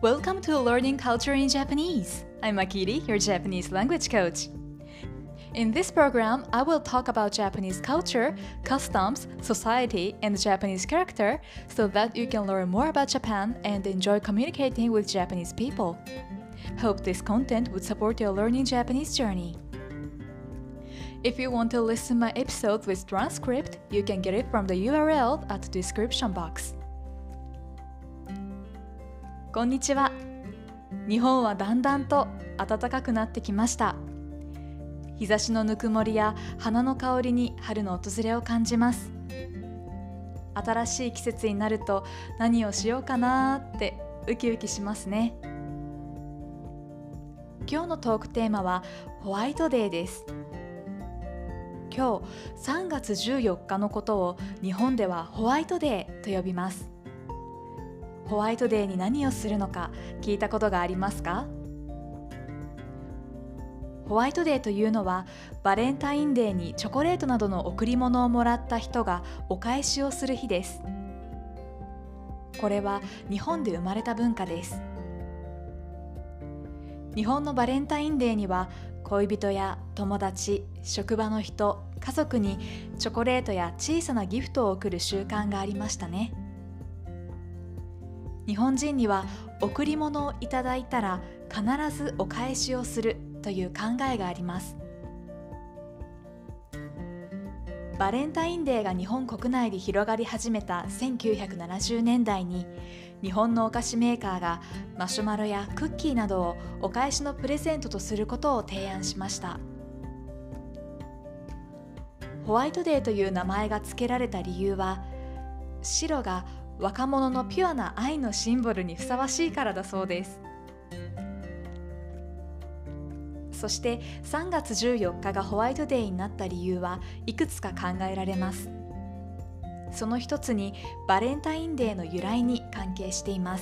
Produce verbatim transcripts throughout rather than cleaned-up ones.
Welcome to Learning Culture in Japanese. I'm Akiri, your Japanese language coach. In this program, I will talk about Japanese culture, customs, society, and Japanese character so that you can learn more about Japan and enjoy communicating with Japanese people. Hope this content would support your learning Japanese journey. If you want to listen my episode with transcript, you can get it from the U R L at the description box. こんにちは。日本はだんだんと暖かくなってきました。日差しのぬくもりや花の香りに春の訪れを感じます。新しい季節になると何をしようかなってウキウキしますね。今日のトークテーマはホワイトデーです。今日さんがつじゅうよっかのことを日本ではホワイトデーと呼びます。ホワイトデーに何をするのか聞いたことがありますか？ホワイトデーというのはバレンタインデーにチョコレートなどの贈り物をもらった人がお返しをする日です。これは日本で生まれた文化です。日本のバレンタインデーには恋人や友達、職場の人、家族にチョコレートや小さなギフトを贈る習慣がありましたね。日本人には贈り物をいただいたら必ずお返しをするという考えがあります。バレンタインデーが日本国内で広がり始めたせんきゅうひゃくななじゅうねんだいに日本のお菓子メーカーがマシュマロやクッキーなどをお返しのプレゼントとすることを提案しました。ホワイトデーという名前が付けられた理由は、白が若者のピュアな愛のシンボルにふさわしいからだそうです。そしてさんがつじゅうよっかがホワイトデーになった理由はいくつか考えられます。その一つにバレンタインデーの由来に関係しています。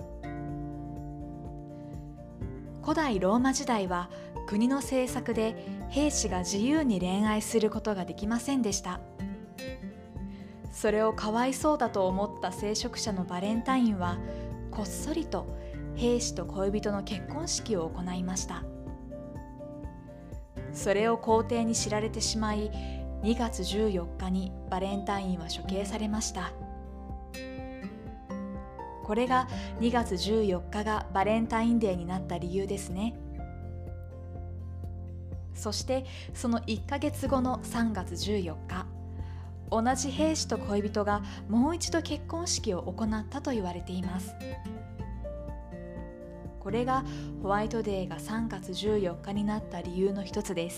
古代ローマ時代は国の政策で兵士が自由に恋愛することができませんでした。それをかわいそうだと思った聖職者のバレンタインはこっそりと兵士と恋人の結婚式を行いました。それを皇帝に知られてしまい、にがつじゅうよっかにバレンタインは処刑されました。これがにがつじゅうよっかがバレンタインデーになった理由ですね。そしてそのいっかげつごのさんがつじゅうよっか、同じ兵士と恋人がもう一度結婚式を行ったと言われています。これがホワイトデーがさんがつじゅうよっかになった理由の一つです。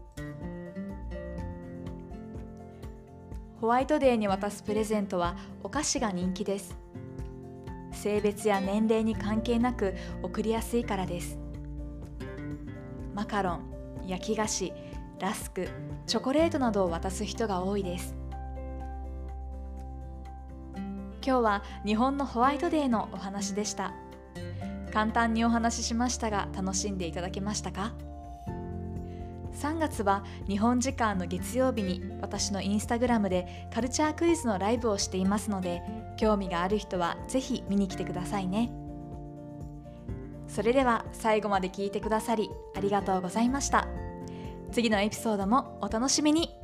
ホワイトデーに渡すプレゼントはお菓子が人気です。性別や年齢に関係なく贈りやすいからです。マカロン、焼き菓子、ラスク、チョコレートなどを渡す人が多いです。今日は日本のホワイトデーのお話でした。簡単にお話ししましたが楽しんでいただけましたか？さんがつは日本時間の月曜日に私のインスタグラムでカルチャークイズのライブをしていますので、興味がある人はぜひ見に来てくださいね。それでは最後まで聞いてくださりありがとうございました。次のエピソードもお楽しみに。